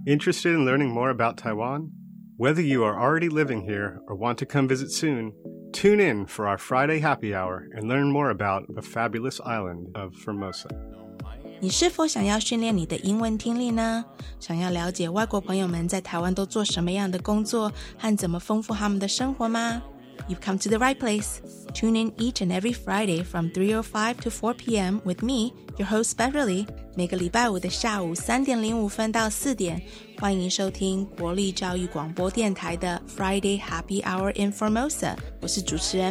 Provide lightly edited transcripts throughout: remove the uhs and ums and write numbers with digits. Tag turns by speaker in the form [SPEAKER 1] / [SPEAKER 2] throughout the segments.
[SPEAKER 1] Interested in learning more about Taiwan? Whether you are already living here or want to come visit soon, tune in for our Friday happy hour and learn more about the fabulous island of Formosa.
[SPEAKER 2] 你是否想要训练你的英文听力呢？想要了解外国朋友们在台湾都做什么样的工作和怎么丰富他们的生活吗？ You've come to the right place. Tune in each and every Friday from 3:05 to 4 p.m. with me, your host Beverly. 每个礼拜五的下午3点05分到4点，欢迎收听国立教育广播电台的 Friday Happy Hour in Formosa. 我是主持人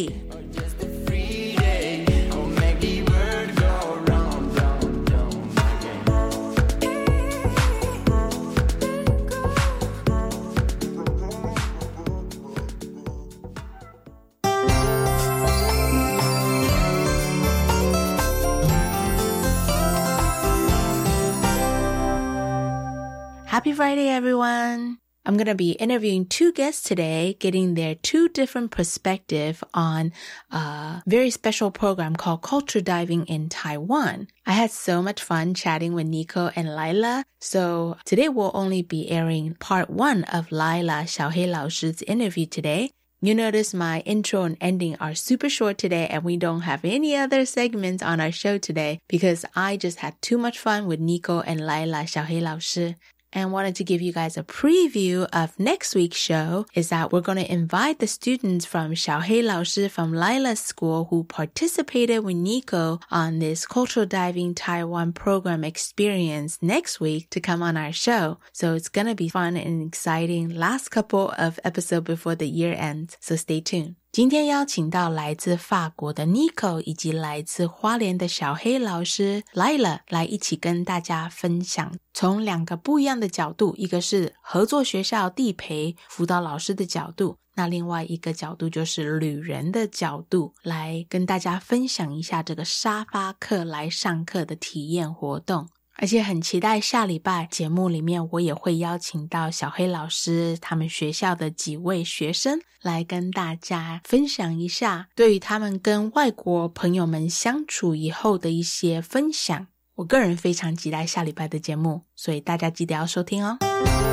[SPEAKER 2] Beverly.Happy Friday, everyone! I'm going to be interviewing two guests today, getting their two different perspectives on a very special program called Culture Diving in Taiwan. I had so much fun chatting with Nico and Lila, so today we'll only be airing part 1 of Lila Xiaohei 老师's interview today. You notice my intro and ending are super short today, and we don't have any other segments on our show today because I just had too much fun with Nico and Lila Xiaohei 老师. And wanted to give you guys a preview of next week's show is that we're going to invite the students from Xiaohei 老师 from Lila's school who participated with Nico on this Cultural Diving Taiwan program experience next week to come on our show. So it's going to be fun and exciting last couple of episodes before the year ends. So stay tuned. 今天邀请到来自法国的 Nico 以及来自花莲的小黑老师 Lila 来一起跟大家分享从2个不一样的角度，一个是合作学校地陪辅导老师的角度，那另外一个角度就是旅人的角度，来跟大家分享一下这个沙发客来上课的体验活动。而且很期待下礼拜节目里面我也会邀请到小黑老师他们学校的几位学生来跟大家分享一下对于他们跟外国朋友们相处以后的一些分享。我个人非常期待下礼拜的节目，所以大家记得要收听哦。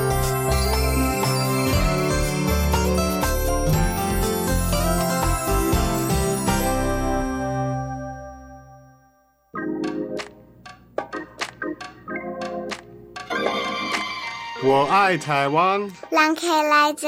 [SPEAKER 1] 我爱台湾，
[SPEAKER 3] 人客来坐。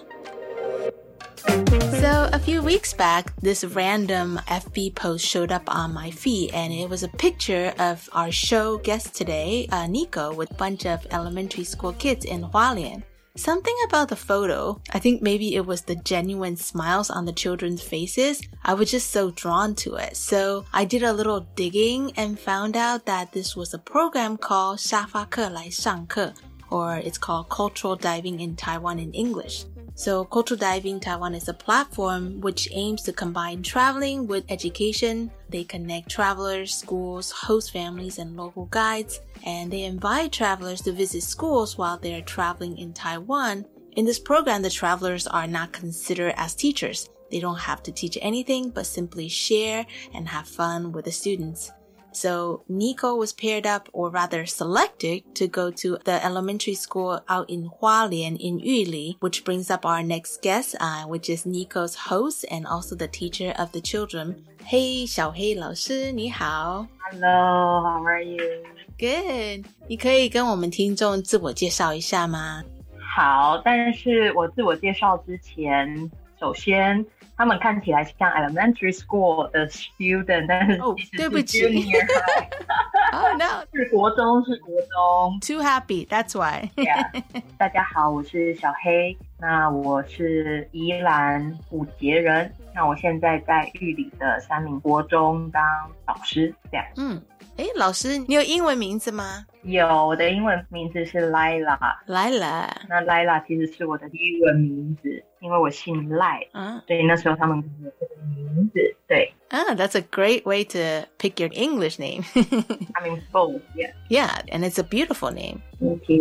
[SPEAKER 2] So a few weeks back, this random FB post showed up on my feed, and it was a picture of our show guest today, Nico, with a bunch of elementary school kids in Hualien. Something about the photo, I think maybe it was the genuine smiles on the children's faces. I was just so drawn to it. So I did a little digging and found out that this was a program called 沙发客来上课, or it's called Cultural Diving in Taiwan in English. So Cultural Diving Taiwan is a platform which aims to combine traveling with education. They connect travelers, schools, host families, and local guides, and they invite travelers to visit schools while they're traveling in Taiwan. In this program, the travelers are not considered as teachers. They don't have to teach anything but simply share and have fun with the students. So Nico was paired up, or rather selected, to go to the elementary school out in Hualien in Yuli, which brings up our next guest, which is Nico's host and also the teacher of the children. Hey, 小黑老师，你好。
[SPEAKER 4] Hello, how are you?
[SPEAKER 2] Good. 你可以跟我们听众自我介绍一下吗？
[SPEAKER 4] 好，但是我自我介绍之前，首先他们看起来像 elementary school 的 student， 但是其实是 junior
[SPEAKER 2] high。Oh no，
[SPEAKER 4] 是国中。
[SPEAKER 2] Too happy, that's why.
[SPEAKER 4] Yeah. 大家好，我是小黑，那我是宜兰虎杰人，那我现在在玉里的三民国中当老师，这样。
[SPEAKER 2] 老师，你有英文名字吗？
[SPEAKER 4] 有，我的英文名字是 Lila。那 Lila 其实是我的英文名字，因为我姓赖，所以那时候他们给我这个名字，对。
[SPEAKER 2] That's a great way to pick your English name.
[SPEAKER 4] I mean, both, yeah.
[SPEAKER 2] Yeah, and it's a beautiful name.
[SPEAKER 4] Thank you.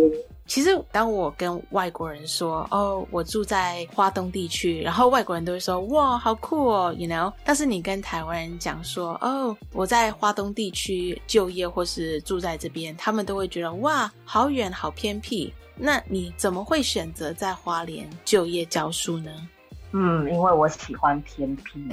[SPEAKER 2] 其实当我跟外国人说我住在花东地区，然后外国人都会说哇好酷哦 you know， 但是你跟台湾人讲说我在花东地区就业或是住在这边，他们都会觉得哇好远好偏僻。那你怎么会选择在花莲就业教书呢？
[SPEAKER 4] 因为我喜欢偏僻。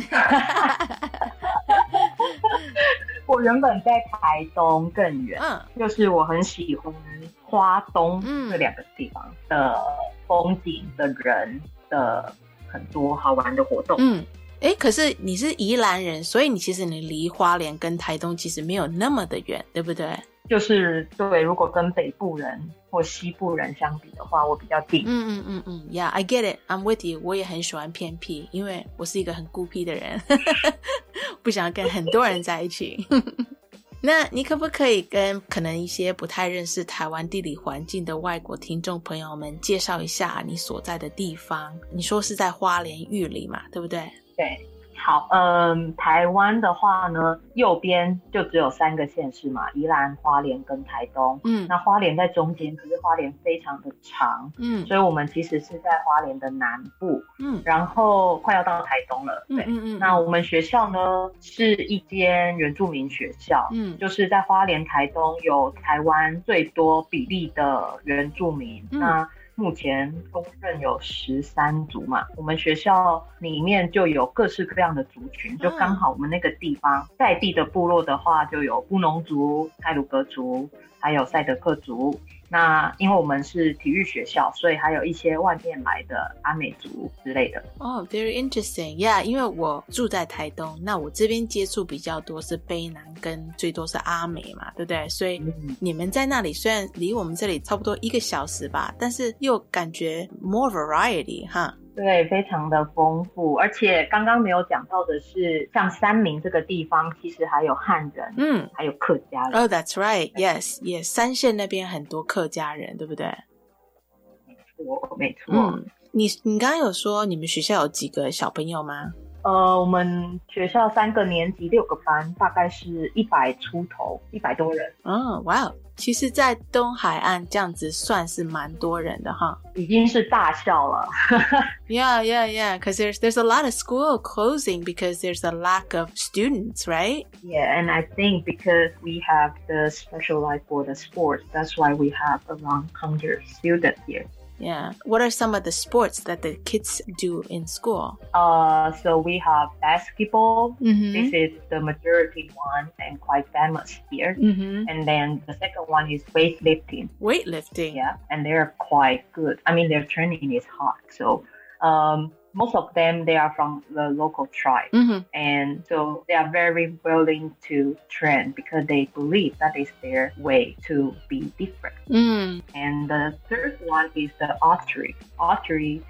[SPEAKER 4] 我原本在台东更远，就是我很喜欢花东这两个地方的风景的人的很多好玩的活动。
[SPEAKER 2] 可是你是宜兰人，所以你其实你离花莲跟台东其实没有那么的远，对不对？
[SPEAKER 4] 就是对，如果跟北部人或西部人相比的话，我比较近。
[SPEAKER 2] Yeah, I get it. I'm with you. 我也很喜欢偏僻，因为我是一个很孤僻的人，不想跟很多人在一起。那你可不可以跟可能一些不太认识台湾地理环境的外国听众朋友们介绍一下你所在的地方？你说是在花莲玉里嘛，对不对？
[SPEAKER 4] 对。好，台湾的话呢，右边就只有3个县市嘛，宜兰、花莲跟台东。那花莲在中间，可是花莲非常的长，所以我们其实是在花莲的南部，然后快要到台东了。对，那我们学校呢是一间原住民学校，就是在花莲、台东有台湾最多比例的原住民。那目前公认有13族嘛，我们学校里面就有各式各样的族群，就刚好我们那个地方在地的部落的话，就有布农族、太鲁阁族，还有赛德克族。那因为我们是体育学校，所以还有一些外面来的阿美族之类的。
[SPEAKER 2] very interesting. Yeah, 因为我住在台东，那我这边接触比较多是卑南跟最多是阿美嘛，对不对？所以你们在那里虽然离我们这里差不多1个小时吧，但是又感觉 more variety 哈。
[SPEAKER 4] 对，非常的丰富，而且刚刚没有讲到的是，像三民这个地方其实还有汉人，还有客家人。
[SPEAKER 2] That's right. Yes, 三线那边很多客家人，对不对？
[SPEAKER 4] 没错。
[SPEAKER 2] 你刚刚有说你们学校有几个小朋友吗？
[SPEAKER 4] 我们学校3个年级6个班，大概是100出头，100多人。
[SPEAKER 2] 哇，其实在东海岸这样子算是蛮多人的哈，
[SPEAKER 4] 已经是大校了。
[SPEAKER 2] Yeah, because there's a lot of school closing because there's a lack of students, right?
[SPEAKER 4] Yeah, and I think because we have the specialized for the sports, that's why we have around 100 students here.
[SPEAKER 2] Yeah. What are some of the sports that the kids do in school?
[SPEAKER 4] So we have basketball. This is the majority one and quite famous here. And then the second one is weightlifting.
[SPEAKER 2] Weightlifting?
[SPEAKER 4] Yeah, and they're quite good. I mean, their training is hard. So most of them, they are from the local tribe. And so they are very willing to train because they believe that is their way to be different. And the third one is the archery. Archery,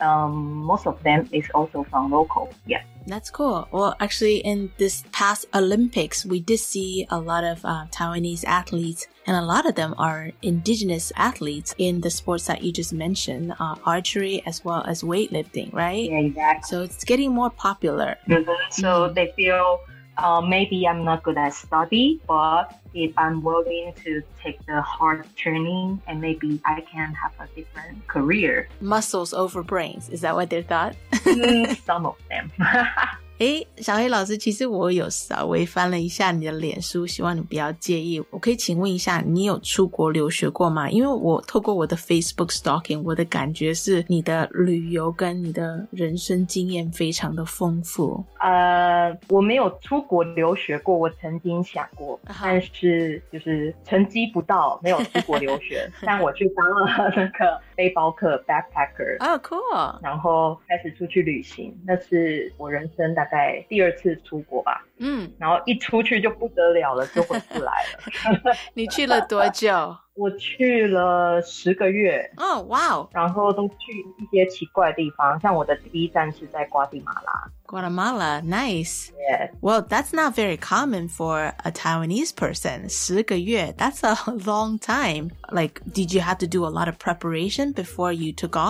[SPEAKER 4] most of them is also from local. Yeah.
[SPEAKER 2] That's cool. Well, actually, in this past Olympics, we did see a lot of Taiwanese athletes, and a lot of them are indigenous athletes in the sports that you just mentioned, archery as well as weightlifting, right?
[SPEAKER 4] Yeah, exactly.
[SPEAKER 2] So it's getting more popular.
[SPEAKER 4] So they feel maybe I'm not good at study, but if I'm willing to take the hard training and maybe I can have a different career.
[SPEAKER 2] Muscles over brains. Is that what they thought?
[SPEAKER 4] Some of them.
[SPEAKER 2] 小黑老师，其实我有稍微翻了一下你的脸书，希望你不要介意。我可以请问一下，你有出国留学过吗？因为我透过我的 Facebook stalking， 我的感觉是你的旅游跟你的人生经验非常的丰富。
[SPEAKER 4] 我没有出国留学过，我曾经想过，但是就是成绩不到，没有出国留学。但我去当了那个背包客 backpacker。
[SPEAKER 2] cool。
[SPEAKER 4] 然后开始出去旅行，那是我人生大概第2次出国吧。然后一出去就不得了了，就回不来了。
[SPEAKER 2] 你去了多久？
[SPEAKER 4] 我去了10个月。
[SPEAKER 2] wow。
[SPEAKER 4] 然后都去一些奇怪的地方，像我的第一站是在瓜地马拉。
[SPEAKER 2] Guatemala, nice.
[SPEAKER 4] Yeah.
[SPEAKER 2] Well, that's not very common for a Taiwanese person. 10个月, that's a long time. Like, did you have to do a lot of preparation before you took off?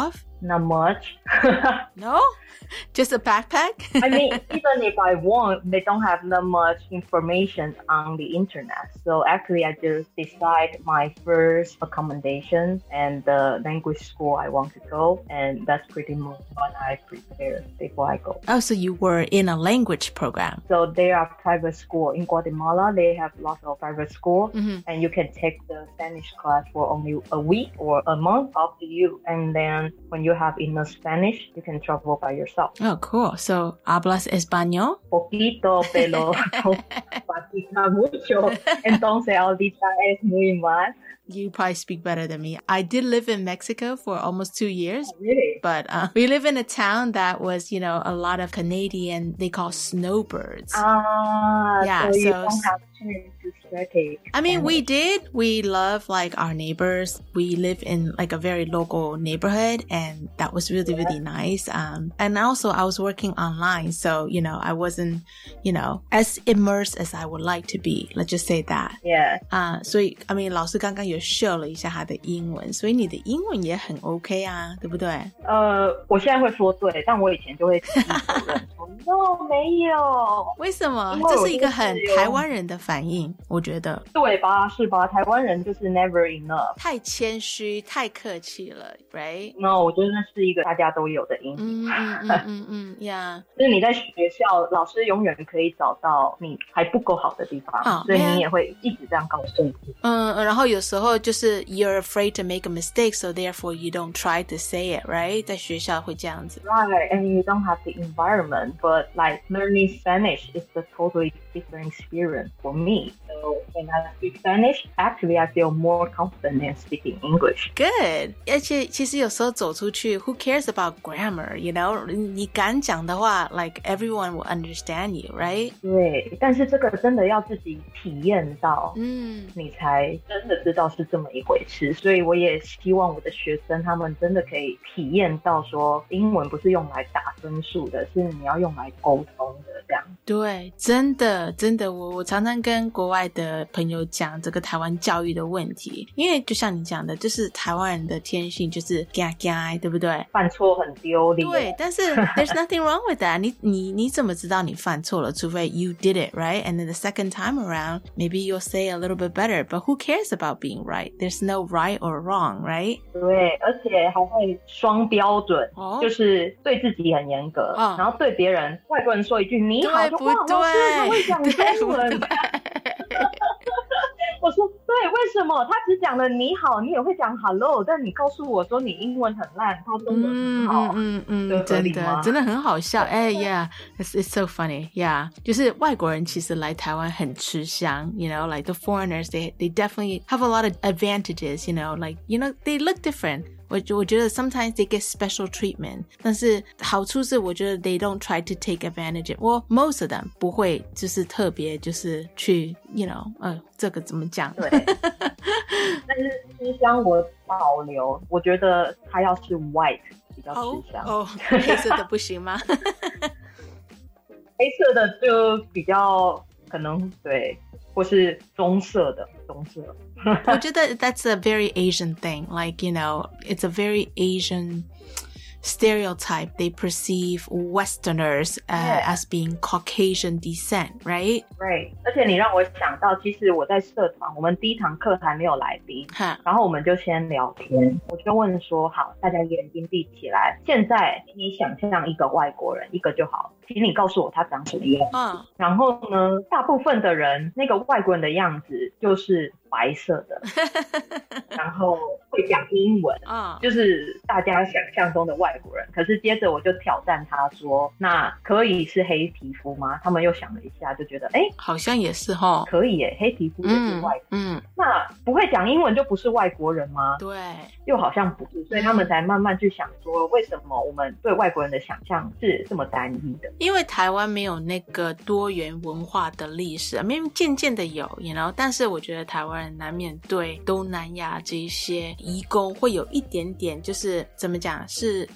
[SPEAKER 4] Not much.
[SPEAKER 2] No? Just a backpack?
[SPEAKER 4] I mean, even if I want, they don't have that much information on the internet. So actually, I just decide my first accommodation and the language school I want to go. And that's pretty much what I prepare before I go.
[SPEAKER 2] Oh, so you were in a language program.
[SPEAKER 4] So there are private school in Guatemala. They have lots of private school. And you can take the Spanish class for only a week or a month, up to you. And then when you have enough Spanish, you can travel by yourself.
[SPEAKER 2] Oh, cool. So, ¿hablas español?
[SPEAKER 4] Poquito, pero practica mucho. Entonces, ahorita es muy mal.
[SPEAKER 2] You probably speak better than me. I did live in Mexico for almost 2 years.
[SPEAKER 4] Oh, really?
[SPEAKER 2] But we live in a town that was, you know, a lot of Canadian, they call snowbirds.
[SPEAKER 4] Yeah, so you don't have chance to study.
[SPEAKER 2] I mean, we did. We love like our neighbors. We live in like a very local neighborhood and that was really, really nice. And also I was working online. So, you know, I wasn't, you know, as immersed as I would like to be. Let's just say that.
[SPEAKER 4] Yeah.
[SPEAKER 2] 所以 I mean 老师刚刚有 show 了一下他的英文，所以你的英文也很 OK 啊，对不对？
[SPEAKER 4] 我现在会说对，但我以前就会自己否认说 no 没有。
[SPEAKER 2] 为什么？这是一个很台湾人的反应，我觉得。对
[SPEAKER 4] 吧？是吧？台湾人就是 never enough，
[SPEAKER 2] 太谦虚，太客气了 ，right？
[SPEAKER 4] No， 我觉得那是一个大家都有的因素。
[SPEAKER 2] yeah。
[SPEAKER 4] 就是你在学校，老师永远可以找到你还不够好的地方，所以你也会一直这样告诉自己。
[SPEAKER 2] 然后有时候就是 you're afraid to make a mistake, so therefore you don't try to say it, right? 在学校会这样子。
[SPEAKER 4] Right, and you don't have the environment, but like learning Spanish is a totally different experience for me. So when I speak Spanish, actually I feel more confident in speaking English.
[SPEAKER 2] Good. 而且其实有时候走出去 who cares about grammar, you know? 你敢讲的话 like everyone will understand you, right?
[SPEAKER 4] 对，但是这个真的要自己体验到，你才真的知道是这么一回事。所以我也希望我的学生他们真的可以体验到说英文不是用来打分数的，是你要用来沟通的这样。对，
[SPEAKER 2] 真的真的，我常常跟国外的朋友讲这个台湾教育的问题，因为就像你讲的，就是台湾人的天性就是怕怕，对不对？
[SPEAKER 4] 犯错很丢脸。
[SPEAKER 2] 对，但是 there's nothing wrong with that. 你怎么知道你犯错了？除非 you did it, right? And then the second time around, maybe you'll say a little bit better. But who cares about being right? There's no right or wrong, right?
[SPEAKER 4] 对，而且还会双标准，就是对自己很严格，然后对别人，外国人说一句你好，就哇，老师他会讲中文。我说对，为什么他只讲了你好，你也会讲 hello， 但你告诉我说你英文很烂，他中文很好，
[SPEAKER 2] 真的很好笑。Yeah, it's so funny. Yeah, 就是外国人其实来台湾很吃香 you know, like the foreigners, they definitely have a lot of advantages, you know, like, you know, they look different.我觉得 sometimes they get special treatment, 但是好处是我觉得 they don't try to take advantage of, well, most of them 不会就是特别就是去 you know, 这个怎么讲？对，
[SPEAKER 4] 但是吃香我保留，我觉得它要是 white 比较吃香。
[SPEAKER 2] 黑色的不行吗？
[SPEAKER 4] 黑色的就比较可能对，或是棕色的。
[SPEAKER 2] 我觉得 that's a very Asian thing. Like, you know, it's a very Asian stereotype. They perceive Westerners as being Caucasian descent, right?
[SPEAKER 4] Right. 而且你让我想到，其实我在社团，我们第一堂课还没有来宾，然后我们就先聊天，我就问说，好，大家眼睛闭起来，现在你想象一个外国人，一个就好，请你告诉我他长什么样。然后呢，大部分的人那个外国人的样子就是白色的，然后会讲英文，就是大家想象中的外国人。可是接着我就挑战他说，那可以是黑皮肤吗？他们又想了一下，就觉得
[SPEAKER 2] 好像也是齁，
[SPEAKER 4] 可以耶，黑皮肤也是外国人。那不会讲英文就不是外国人吗？
[SPEAKER 2] 对，
[SPEAKER 4] 又好像不是，所以他们才慢慢去想说，为什么我们对外国人的想象是这么单一的？
[SPEAKER 2] 因为台湾没有那个多元文化的历史，因为渐渐的有 you know， 但是我觉得台湾人难免对东南亚这些移工会有一点点就是怎么讲是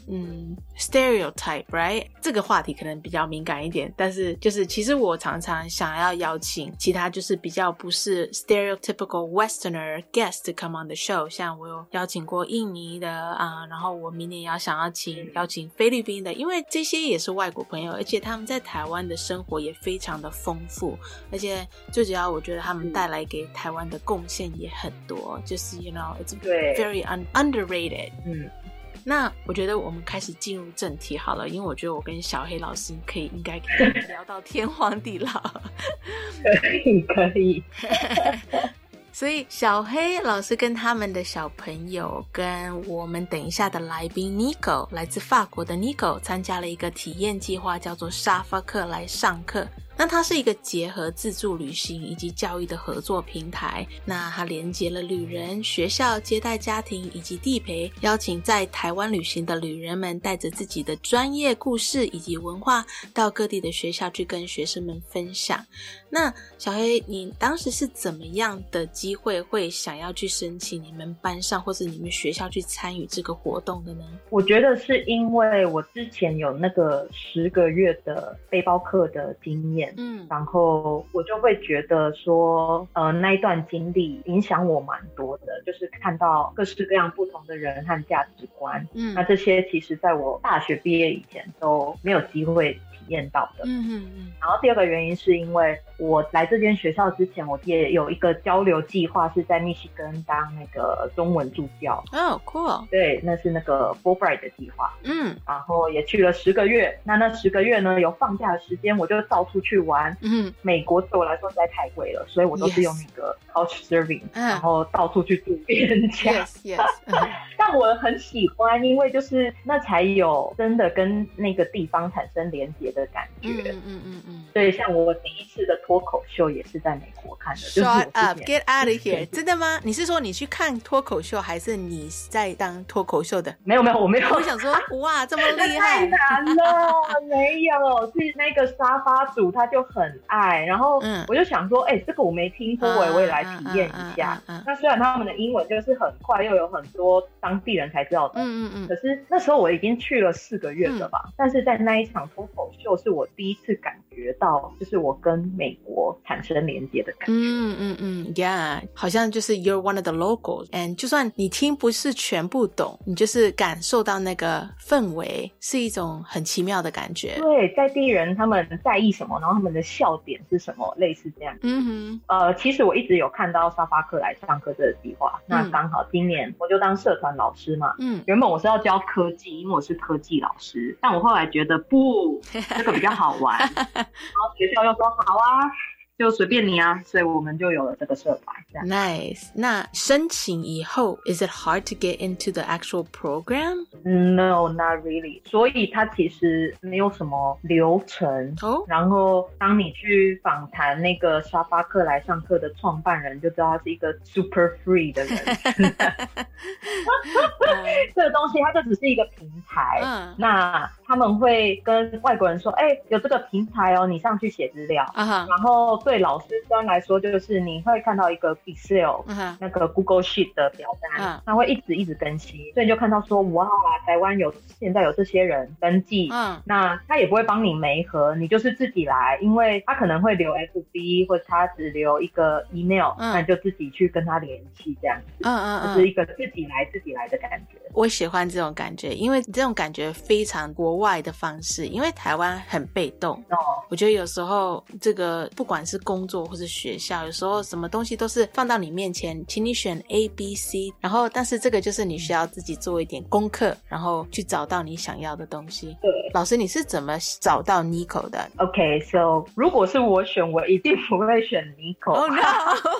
[SPEAKER 2] stereotype right 这个话题可能比较敏感一点，但是就是其实我常常想要邀请其他就是比较不是 stereotypical westerner guest to come on the show， 像我有邀请过印尼的然后我明年也要想要邀请菲律宾的，因为这些也是外国朋友，而且他们在台湾的生活也非常的丰富，而且最主要我觉得他们带来给台湾的贡献也很多，就是 you know it's very underrated。 那我觉得我们开始进入正题好了，因为我觉得我跟小黑老师应该可以聊到天荒地老。
[SPEAKER 4] 可以
[SPEAKER 2] 所以小黑老师跟他们的小朋友跟我们等一下的来宾 Nico 来自法国的 Nico 参加了一个体验计划，叫做沙发客来上课。那它是一个结合自助旅行以及教育的合作平台，那它连接了旅人、学校、接待家庭以及地陪，邀请在台湾旅行的旅人们带着自己的专业故事以及文化到各地的学校去跟学生们分享。那小黑，你当时是怎么样的机会会想要去申请你们班上或是你们学校去参与这个活动的呢？
[SPEAKER 4] 我觉得是因为我之前有那个10个月的背包客的经验，然后我就会觉得说那一段经历影响我蛮多的，就是看到各式各样不同的人和价值观，那这些其实在我大学毕业以前都没有机会体验到的。然后第二个原因是因为我来这间学校之前，我也有一个交流计划是在密西根当那个中文助教。
[SPEAKER 2] cool。
[SPEAKER 4] 对，那是那个 Fulbright 的计划。然后也去了10个月，那10个月呢有放假的时间，我就到处去玩。美国对我来说实在太贵了，所以我都是用那个 Couchsurfing，然后到处去住别人家。但我很喜欢，因为就是那才有真的跟那个地方产生连结的感觉。所以像我第一次的脱口秀也是在美国看的。
[SPEAKER 2] Shut up, get out of here！ 真的吗？你是说你去看脱口秀，还是你在当脱口秀的？
[SPEAKER 4] 没有，我没有。
[SPEAKER 2] 我想说，哇，这么厉害！
[SPEAKER 4] 太难了，没有，是那个沙发主他就很爱，然后我就想说，这个我没听过，我也来体验一下。那虽然他们的英文就是很快，又有很多当地人才知道的，可是那时候我已经去了4个月了吧，但是在那一场脱口秀是我第一次感觉到，就是我跟美国产生连接的感觉。
[SPEAKER 2] Yeah， 好像就是 you're one of the locals， and 就算你听不是全部懂，你就是感受到那个氛围，是一种很奇妙的感觉。
[SPEAKER 4] 对，在地人他们在意什么，然后他们的笑点是什么，类似这样。其实我一直有看到沙发客来上课这个计划，那刚好今年我就当社团老师嘛。原本我是要教科技，因为我是科技老师，但我后来觉得不，这个比较好玩。然后学校又说好啊，就随便你啊，所以我们就有了这个社团。
[SPEAKER 2] Nice。 那申请以后 is it hard to get into the actual program?
[SPEAKER 4] No, not really。 所以它其实没有什么流程。然后当你去访谈那个沙发客来上课的创办人，就知道他是一个 super free 的人。这个东西它就只是一个平台。那他们会跟外国人说，有这个平台哦，你上去写资料。然后对老师端来说，就是你会看到一个 Excel，那个 Google Sheet 的表单，它会一直更新，所以你就看到说，哇，台湾现在有这些人登记。那他也不会帮你媒合，你就是自己来，因为他可能会留 FB， 或者他只留一个 email，那你就自己去跟他联系，这样子。就是一个自己来的感觉。
[SPEAKER 2] 我喜欢这种感觉，因为这种感觉非常国外的方式，因为台湾很被动。我觉得有时候这个不管是工作或是学校，有时候什么东西都是放到你面前，请你选 A、B、C， 然后但是这个就是你需要自己做一点功课，然后去找到你想要的东西。
[SPEAKER 4] 对，
[SPEAKER 2] 老师你是怎么找到 Nico 的？
[SPEAKER 4] Okay, so 如果是我选，我一定不会选 Nico。
[SPEAKER 2] Oh no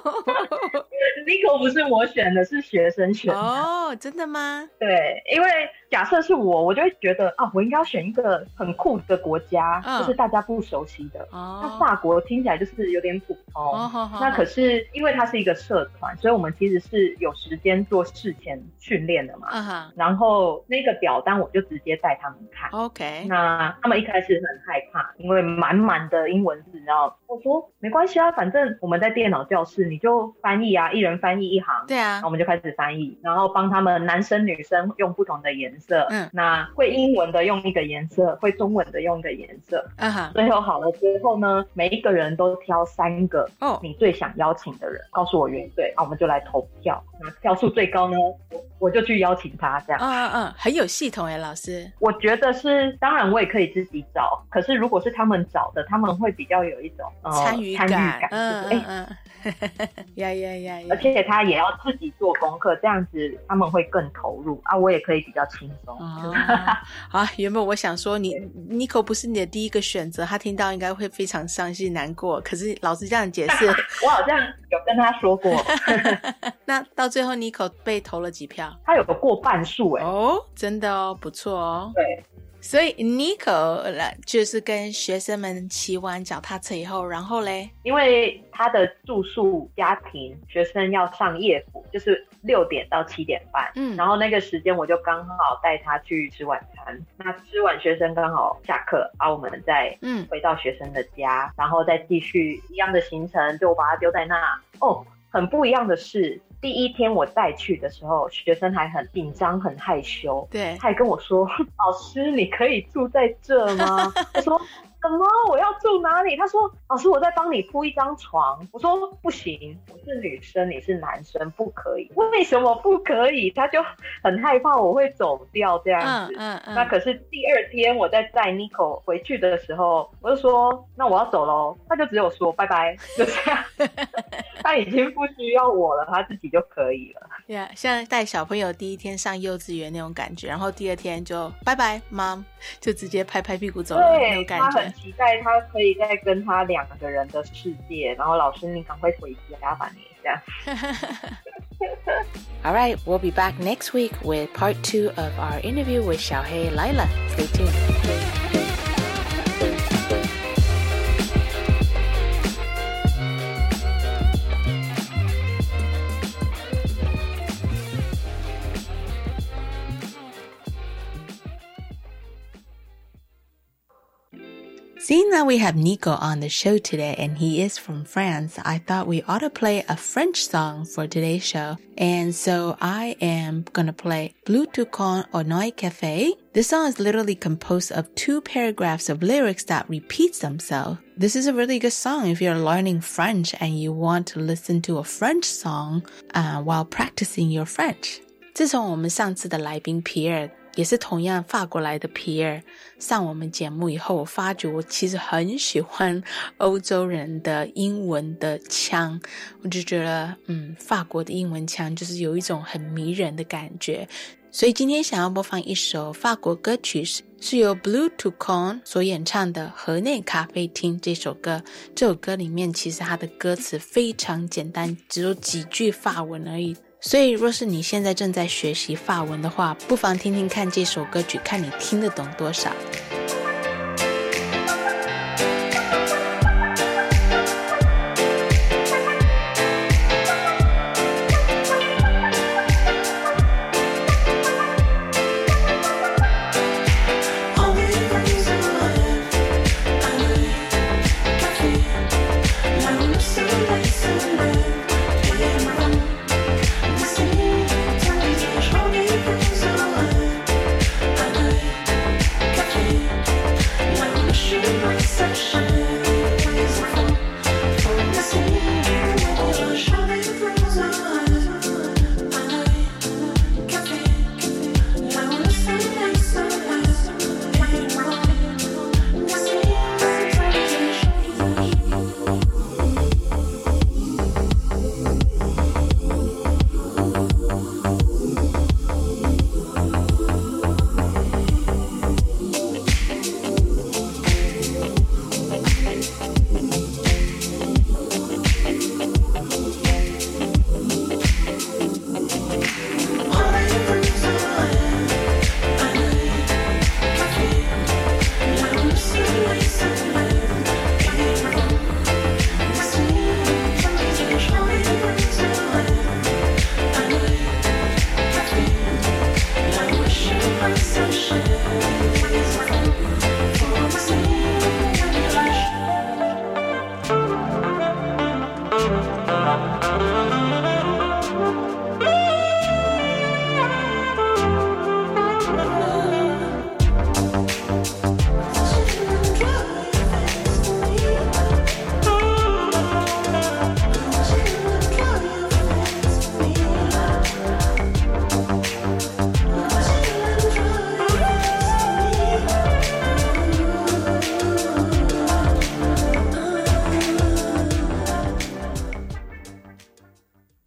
[SPEAKER 4] Nico 不是我选的，是学生选的。
[SPEAKER 2] 真的吗？
[SPEAKER 4] 对，因为假设是我就会觉得我应该要选一个很酷的国家，就是大家不熟悉的。那法国听起来就是有点普通。那可是因为它是一个社团，所以我们其实是有时间做事前训练的嘛。然后那个表单我就直接带他们看。
[SPEAKER 2] OK。
[SPEAKER 4] 那他们一开始很害怕，因为满满的英文字，然后我说没关系啊，反正我们在电脑教室，你就翻译啊，一人人翻译一行，
[SPEAKER 2] 对啊，
[SPEAKER 4] 然后我们就开始翻译，然后帮他们男生女生用不同的颜色，那会英文的用一个颜色，会中文的用一个颜色，最后好了之后呢，每一个人都挑3个你最想邀请的人，告诉我原罪，我们就来投票，那票数最高呢，我就去邀请他，这样。
[SPEAKER 2] 很有系统耶，老师。
[SPEAKER 4] 我觉得是，当然我也可以自己找，可是如果是他们找的，他们会比较有一种
[SPEAKER 2] 参与感，
[SPEAKER 4] 而且他也要自己做功课，这样子他们会更投入啊，我也可以比较轻松。
[SPEAKER 2] 好，原本我想说Nico 不是你的第一个选择，他听到应该会非常伤心难过，可是老师这样解释
[SPEAKER 4] 我好像有跟他说过
[SPEAKER 2] 那到最后 Nico 被投了几票？
[SPEAKER 4] 他有过半数耶。
[SPEAKER 2] 真的哦，不错哦。
[SPEAKER 4] 对，
[SPEAKER 2] 所以 Nico 就是跟学生们骑完脚踏车以后，然后嘞，
[SPEAKER 4] 因为他的住宿家庭学生要上夜辅，就是6点到7点半，然后那个时间我就刚好带他去吃晚餐，那吃完学生刚好下课，我们再回到学生的家，然后再继续一样的行程，就我把他丢在那。很不一样的是，第一天我带去的时候，学生还很紧张很害羞，
[SPEAKER 2] 对，
[SPEAKER 4] 他还跟我说老师你可以住在这吗？我说什么？我要住哪里？他说老师我在帮你铺一张床。我说不行，我是女生你是男生不可以。为什么不可以？他就很害怕我会走掉这样子。那可是第2天我在载 Nico 回去的时候，我就说那我要走咯，他就只有说拜拜，就这样他已经不需要我了，他自己就可以了。
[SPEAKER 2] 像带小朋友第一天上幼稚园那种感觉，然后第2天就拜拜 Mom， 就直接拍拍屁股走了那种感觉。
[SPEAKER 4] 他很期待他可以再跟他2个人的世界，然后老师你赶快回家吧你这样。
[SPEAKER 2] Alright, we'll be back next week with part 2 of our interview with Xiaohei Lila. Stay tuned. Seeing that we have Nico on the show today and he is from France, I thought we ought to play a French song for today's show. And so I am gonna play Bleu Toucan au Noi Café. This song is literally composed of 2 paragraphs of lyrics that repeats themselves. This is a really good song if you're learning French and you want to listen to a French song while practicing your French. 自从我们上次的来宾皮尔也是同样法国来的皮尔上我们节目以后，我发觉我其实很喜欢欧洲人的英文的腔，我就觉得法国的英文腔就是有一种很迷人的感觉。所以今天想要播放一首法国歌曲，是由 Bleu Toucan 所演唱的河内咖啡厅这首歌。这首歌里面其实它的歌词非常简单，只有几句法文而已。所以若是你现在正在学习法文的话，不妨听听看这首歌曲，看你听得懂多少。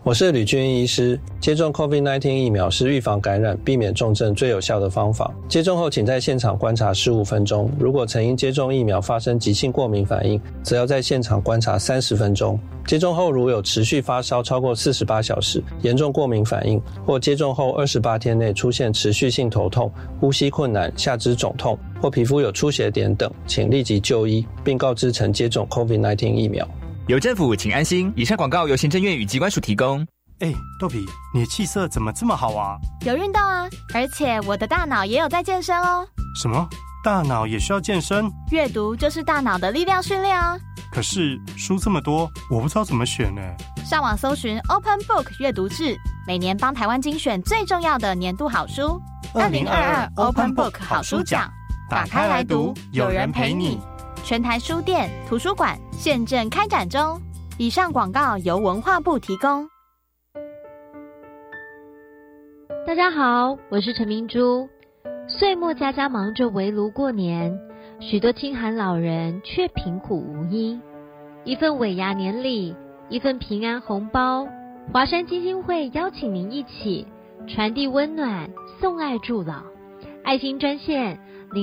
[SPEAKER 3] 我是吕俊医师。接种 COVID-19 疫苗是预防感染、避免重症最有效的方法。接种后请在现场观察15分钟，如果曾因接种疫苗发生急性过敏反应，则要在现场观察30分钟。接种后如有持续发烧超过48小时、严重过敏反应，或接种后28天内出现持续性头痛、呼吸困难、下肢肿痛或皮肤有出血点等，请立即就医，并告知曾接种 COVID-19 疫苗。
[SPEAKER 5] 有政府，请安心。以上广告由行政院与机关署提供。
[SPEAKER 6] 豆皮，你的气色怎么这么好啊？
[SPEAKER 7] 有运动啊，而且我的大脑也有在健身哦。
[SPEAKER 6] 什么？大脑也需要健身？
[SPEAKER 7] 阅读就是大脑的力量训练啊。
[SPEAKER 6] 可是书这么多，我不知道怎么选呢。
[SPEAKER 7] 上网搜寻 Open Book 阅读志，每年帮台湾精选最重要的年度好书。2022 Open Book 好书奖，打开来读，有人陪你。全台书店、图书馆现正开展中。以上广告由文化部提供。
[SPEAKER 8] 大家好，我是陈明珠。岁末家家忙着围炉过年，许多清寒老人却贫苦无依。一份尾牙年礼，一份平安红包，华山基金会邀请您一起传递温暖，送爱助老。爱心专线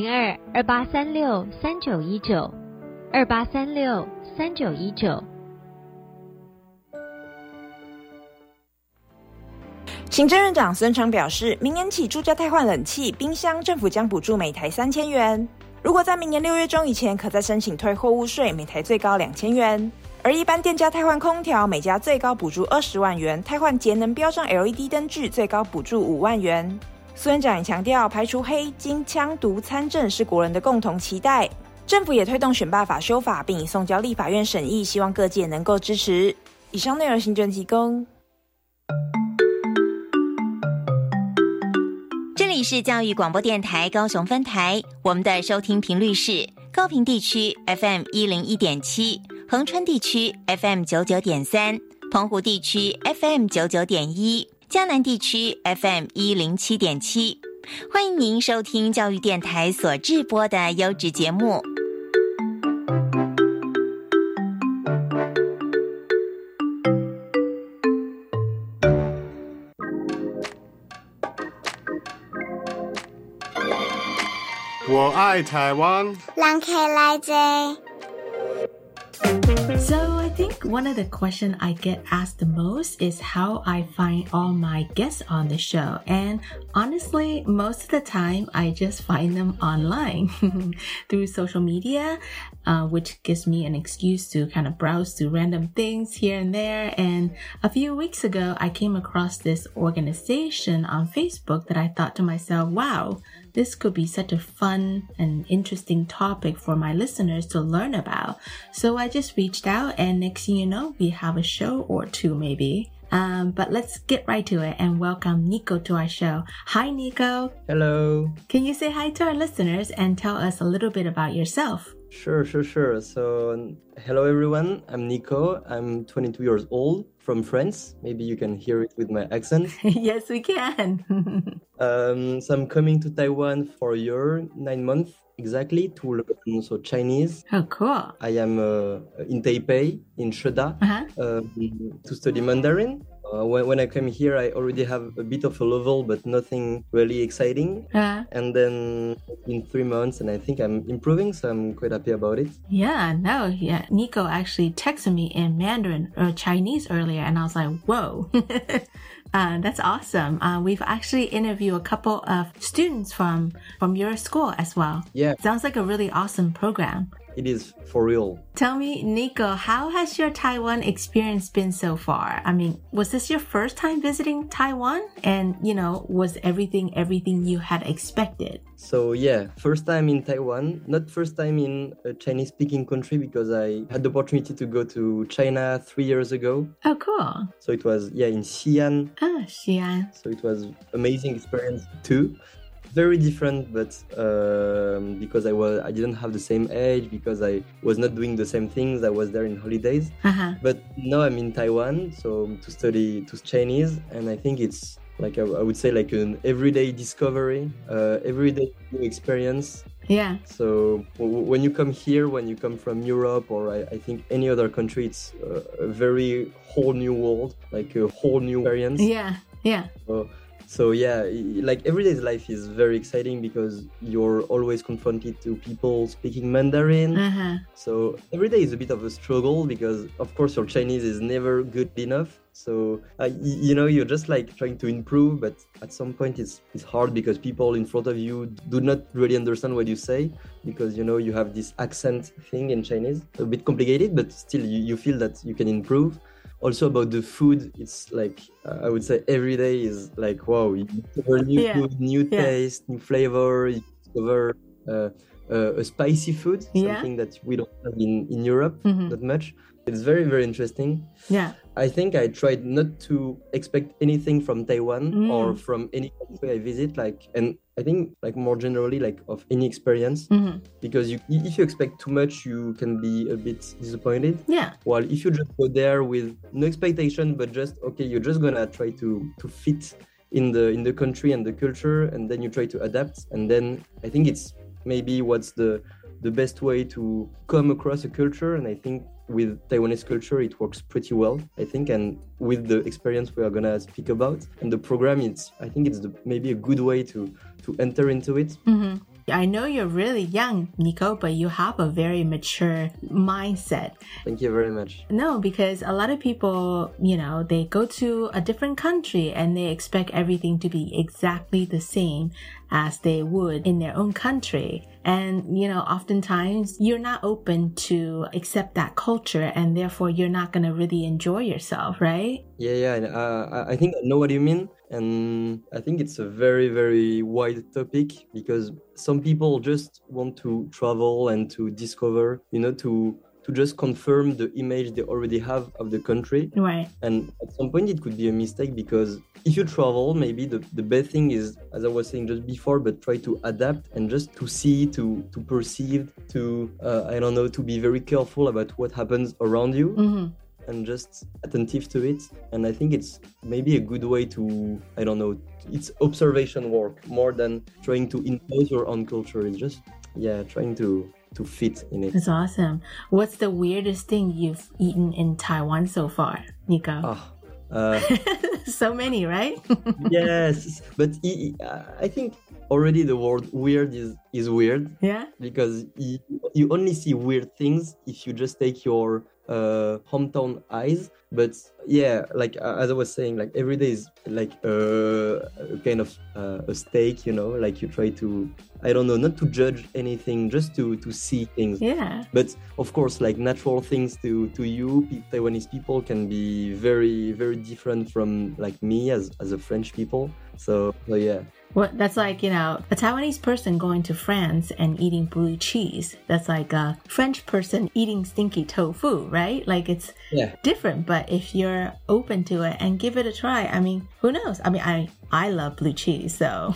[SPEAKER 8] 02-2836-3919 2836-3919。
[SPEAKER 9] 行政院长孙昌表示，明年起住家汰换冷气、冰箱，政府将补助每台3000元。如果在明年6月中以前，可再申请退货物税，每台最高2000元。而一般店家汰换空调，每家最高补助20万元；汰换节能标章 LED 灯具，最高补助5万元。孙院长也强调，排除黑金、枪毒参政是国人的共同期待。政府也推动选罢法修法，并已送交立法院审议，希望各界能够支持。以上内容行政提供。
[SPEAKER 10] 这里是教育广播电台高雄分台，我们的收听频率是高屏地区 FM 101.7，恒春地区 FM 99.3，澎湖地区 FM 99.1，嘉南地区 FM 107.7。欢迎您收听教育电台所制播的优质节目。
[SPEAKER 1] 我爱台湾。
[SPEAKER 11] 人客来坐。
[SPEAKER 2] So I think one of the questions I get asked the most is how I find all my guests on the show. And honestly, most of the time, I just find them online through social media, which gives me an excuse to kind of browse through random things here and there. And a few weeks ago, I came across this organization on Facebook that I thought to myself, wow, this could be such a fun and interesting topic for my listeners to learn about. So I just reached out, and next thing you know, we have a show or two maybe. But let's get right to it and welcome Nico to our show. Hi, Nico.
[SPEAKER 3] Hello.
[SPEAKER 2] Can you say hi to our listeners and tell us a little bit about yourself?
[SPEAKER 3] Sure. So, hello everyone. I'm Nico. I'm 22 years old from France. Maybe you can hear it with my accent.
[SPEAKER 2] Yes, we can.
[SPEAKER 3] So I'm coming to Taiwan for a year, 9 months exactly, to learn Chinese.
[SPEAKER 2] Oh, cool.
[SPEAKER 3] I am in Taipei, in Sheda, to study Mandarin. When I came here, I already have a bit of a level, but nothing really exciting. And then in 3 months, and I think I'm improving, so I'm quite happy about it.
[SPEAKER 2] Yeah. Nico actually texted me in Mandarin or Chinese earlier, and I was like, whoa. That's awesome. We've actually interviewed a couple of students from your school as well.
[SPEAKER 3] Yeah.
[SPEAKER 2] Sounds like a really awesome program.
[SPEAKER 3] It is for real.
[SPEAKER 2] Tell me, Nico, how has your Taiwan experience been so far? I mean, was this your first time visiting Taiwan? And, was everything you had expected?
[SPEAKER 3] So yeah, first time in Taiwan, not first time in a Chinese-speaking country, because I had the opportunity to go to China 3 years ago.
[SPEAKER 2] Oh, cool.
[SPEAKER 3] So it was, in Xi'an.
[SPEAKER 2] Ah, Xi'an.
[SPEAKER 3] So it was amazing experience too. Very different, but because I didn't have the same age, because I was not doing the same things. I was there in holidays. But now I'm in Taiwan, so to study Chinese, and I think it's like I would say like an everyday discovery, everyday new experience.
[SPEAKER 2] Yeah.
[SPEAKER 11] So when you come here, when you come from Europe or I think any other country, it's a very whole new world, like a whole new experience.
[SPEAKER 2] Yeah.
[SPEAKER 11] So yeah, like everyday life is very exciting because you're always confronted to people speaking Mandarin. So every day is a bit of a struggle because of course your Chinese is never good enough. So you're just like trying to improve, but at some point it's hard because people in front of you do not really understand what you say because you have this accent thing in Chinese, a bit complicated, but still you feel that you can improve. Also about the food, it's like I would say every day is like wow, you discover new food, new taste, new flavor. You discover a spicy food, something that we don't have in Europe that much. It's very, very interesting.
[SPEAKER 2] Yeah.
[SPEAKER 11] I think I tried not to expect anything from Taiwan or from any country I visit, and I think like more generally like of any experience, because if you expect too much, you can be a bit disappointed.
[SPEAKER 2] Yeah.
[SPEAKER 11] While if you just go there with no expectation, but just okay, you're just gonna try to fit in the country and the culture, and then you try to adapt, and then I think it's maybe what's the best way to come across a culture, and I think with Taiwanese culture it works pretty well, I think, and with the experience we are gonna speak about and the program, I think it's maybe a good way to enter into it.
[SPEAKER 2] I know you're really young, Nico, but you have a very mature mindset.
[SPEAKER 11] Thank you very much.
[SPEAKER 2] No, because a lot of people, they go to a different country and they expect everything to be exactly the same as they would in their own country. And, oftentimes you're not open to accept that culture and therefore you're not going to really enjoy yourself, right?
[SPEAKER 11] Yeah. I think I know what you mean. And I think it's a very, very wide topic because some people just want to travel and to discover, to just confirm the image they already have of the country.
[SPEAKER 2] Right.
[SPEAKER 11] And at some point it could be a mistake because if you travel, maybe the best thing is, as I was saying just before, but try to adapt and just to see, to perceive, to, to be very careful about what happens around you. And just attentive to it. And I think it's maybe a good way to, it's observation work more than trying to impose your own culture. It's just, trying to fit in it.
[SPEAKER 2] That's awesome. What's the weirdest thing you've eaten in Taiwan so far, Nico? So many, right?
[SPEAKER 11] Yes, but I think already the word weird is weird.
[SPEAKER 2] Yeah.
[SPEAKER 11] Because you only see weird things if you just take your hometown eyes. But like as I was saying, like every day is like a kind of a steak, like you try to, not to judge anything, just to see things.
[SPEAKER 2] Yeah.
[SPEAKER 11] But of course, like natural things to you, Taiwanese people can be very, very different from like me as a French people. So yeah.
[SPEAKER 2] Well, that's like, a Taiwanese person going to France and eating blue cheese. That's like a French person eating stinky tofu, right? Like it's different, but if you're open to it and give it a try, who knows? I love blue cheese, so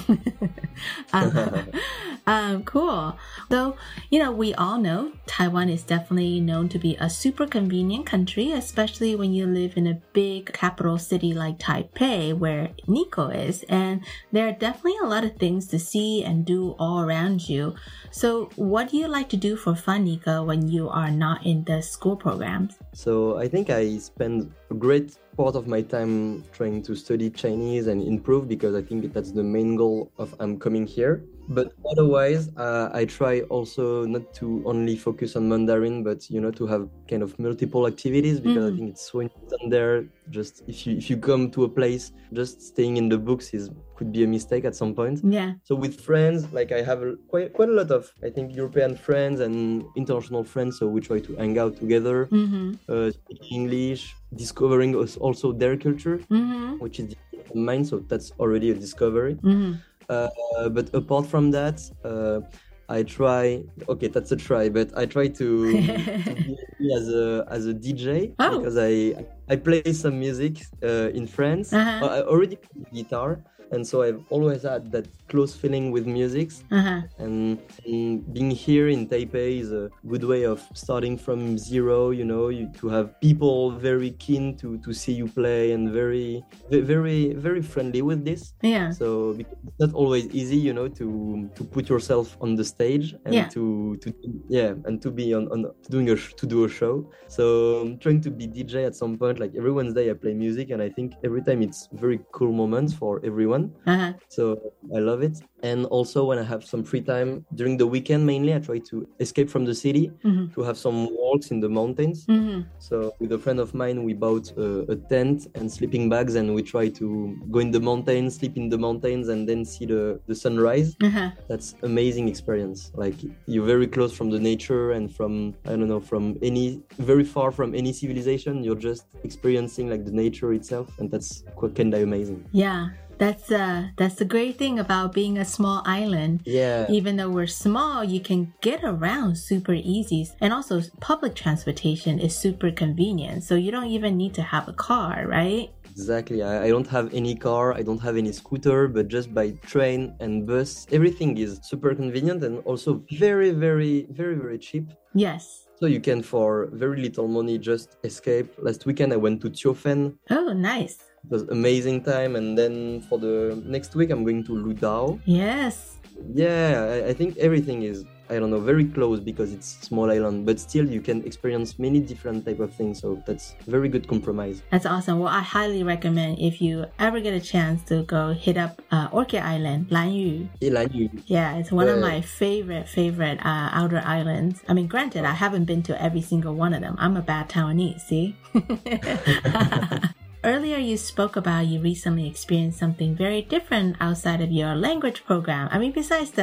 [SPEAKER 2] cool. So, we all know Taiwan is definitely known to be a super convenient country, especially when you live in a big capital city like Taipei, where Nico is. And there are definitely a lot of things to see and do all around you. So what do you like to do for fun, Nico, when you are not in the school programs?
[SPEAKER 11] So I think I spend a great part of my time trying to study Chinese and improve because I think that's the main goal of I'm coming here. But otherwise, I try also not to only focus on Mandarin, but to have kind of multiple activities because I think it's so important there. Just if you come to a place, just staying in the books could be a mistake at some point.
[SPEAKER 2] Yeah.
[SPEAKER 11] So with friends, like I have quite a lot of, I think, European friends and international friends. So we try to hang out together, speak English, discovering also their culture, which is different from mine. So that's already a discovery. But apart from that, I try. Okay, that's a try. But I try to be as a DJ because I I play some music in France. I already play guitar. And so I've always had that close feeling with music. And being here in Taipei is a good way of starting from zero, to have people very keen to see you play and very, very, very friendly with this.
[SPEAKER 2] Yeah.
[SPEAKER 11] So because it's not always easy, to put yourself on the stage and to be to do a show. So I'm trying to be DJ at some point. Like every Wednesday I play music, and I think every time it's very cool moments for everyone. So I love it. And also when I have some free time during the weekend, mainly I try to escape from the city to have some walks in the mountains. So with a friend of mine, we bought a tent and sleeping bags, and we try to go in the mountains, sleep in the mountains, and then see the sunrise. That's amazing experience. Like you're very close from the nature and from very far from any civilization. You're just experiencing like the nature itself, and that's kind of amazing.
[SPEAKER 2] Yeah. That's the great thing about being a small island.
[SPEAKER 11] Yeah.
[SPEAKER 2] Even though we're small, you can get around super easy. And also public transportation is super convenient. So you don't even need to have a car, right?
[SPEAKER 11] Exactly. I don't have any car. I don't have any scooter, but just by train and bus, everything is super convenient and also very, very, very, very cheap.
[SPEAKER 2] Yes.
[SPEAKER 11] So you can, for very little money, just escape. Last weekend, I went to Tiofen.
[SPEAKER 2] Oh, nice.
[SPEAKER 11] It was amazing time. And then for the next week, I'm going to Ludao.
[SPEAKER 2] Yes.
[SPEAKER 11] Yeah, I think everything is, very close because it's small island, but still you can experience many different type of things. So that's very good compromise.
[SPEAKER 2] That's awesome. Well, I highly recommend if you ever get a chance to go hit up Orchid Island, Lanyu.
[SPEAKER 11] Lanyu.
[SPEAKER 2] Yeah, it's one of my favorite outer islands. I mean, granted, I haven't been to every single one of them. I'm a bad Taiwanese, see? Earlier, you spoke about you recently experienced something very different outside of your language program. I mean, besides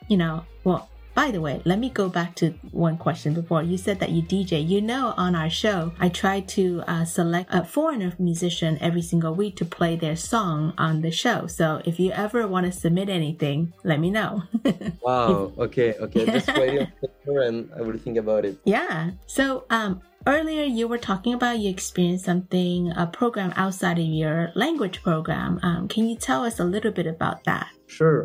[SPEAKER 2] by the way, let me go back to one question before. You said that you DJ. On our show, I try to select a foreigner musician every single week to play their song on the show. So if you ever want to submit anything, let me know.
[SPEAKER 11] Wow. Okay. Just write it on paper and I will think about it.
[SPEAKER 2] Yeah. So, earlier, you were talking about you experienced a program outside of your language program. Can you tell us a little bit about that?
[SPEAKER 11] Sure.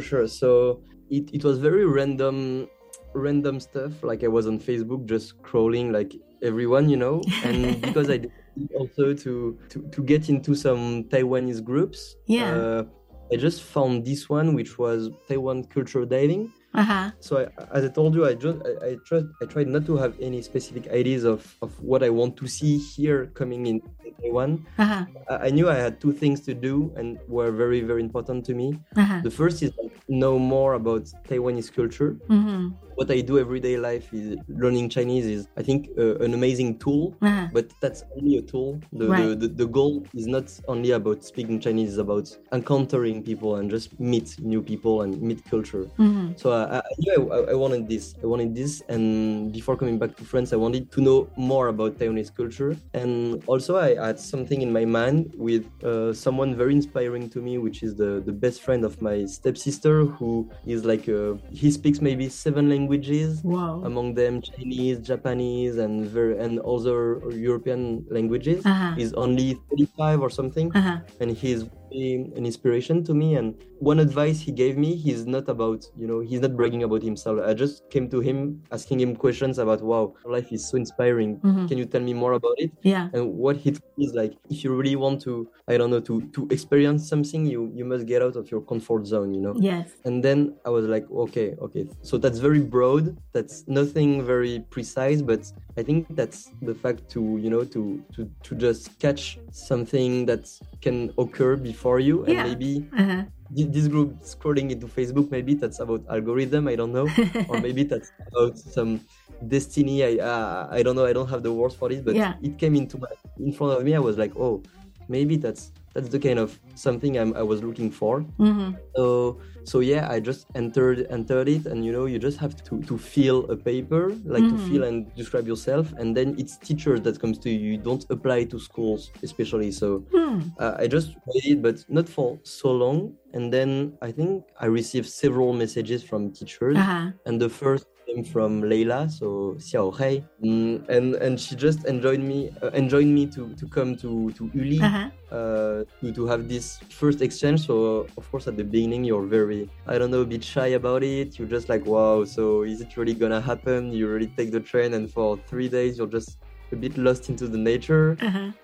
[SPEAKER 11] So it was very random stuff. Like I was on Facebook just scrolling like everyone, and because I did also to get into some Taiwanese groups.
[SPEAKER 2] Yeah.
[SPEAKER 11] I just found this one, which was Taiwan Culture Diving. So as I told you, I tried not to have any specific ideas of what I want to see here coming in Taiwan. I knew I had two things to do and were very, very important to me. The first is know more about Taiwanese culture. What I do everyday life is learning Chinese is, I think, an amazing tool, but that's only a tool. The goal is not only about speaking Chinese, it's about encountering people and just meet new people and meet culture. So I knew I wanted this. And before coming back to France, I wanted to know more about Taiwanese culture. And also I had something in my mind with someone very inspiring to me, which is the best friend of my stepsister, who is like, he speaks maybe 7 languages.
[SPEAKER 2] Wow.
[SPEAKER 11] Among them Chinese, Japanese, and other European languages. He's only 35 or something, and he's an inspiration to me. And one advice he gave me, he's not bragging about himself. I just came to him asking him questions about, wow, life is so inspiring. Can you tell me more about it?
[SPEAKER 2] Yeah.
[SPEAKER 11] And what he told me is like, if you really want to, to experience something, you must get out of your comfort zone,
[SPEAKER 2] Yes.
[SPEAKER 11] And then I was like, okay. So that's very broad. That's nothing very precise, but I think that's the fact to just catch something that can occur before you, and maybe this group scrolling into Facebook, maybe that's about algorithm, I don't know, or maybe that's about some destiny. I don't know. I don't have the words for it, but it came in front of me. I was like, oh, maybe that's the kind of something I was looking for. So yeah, I just entered it, and you just have to fill a paper, like to fill and describe yourself, and then it's teachers that comes to you. You don't apply to schools, especially. So I just waited, but not for so long. And then I think I received several messages from teachers, and the first came from Leila, so Xiao Hei, and she just enjoined me to come to Uli to have this first exchange. So of course at the beginning you're very, I don't know, a bit shy about it. You're just like, wow, so is it really gonna happen? You really take the train, and for 3 days you're just a bit lost into the nature.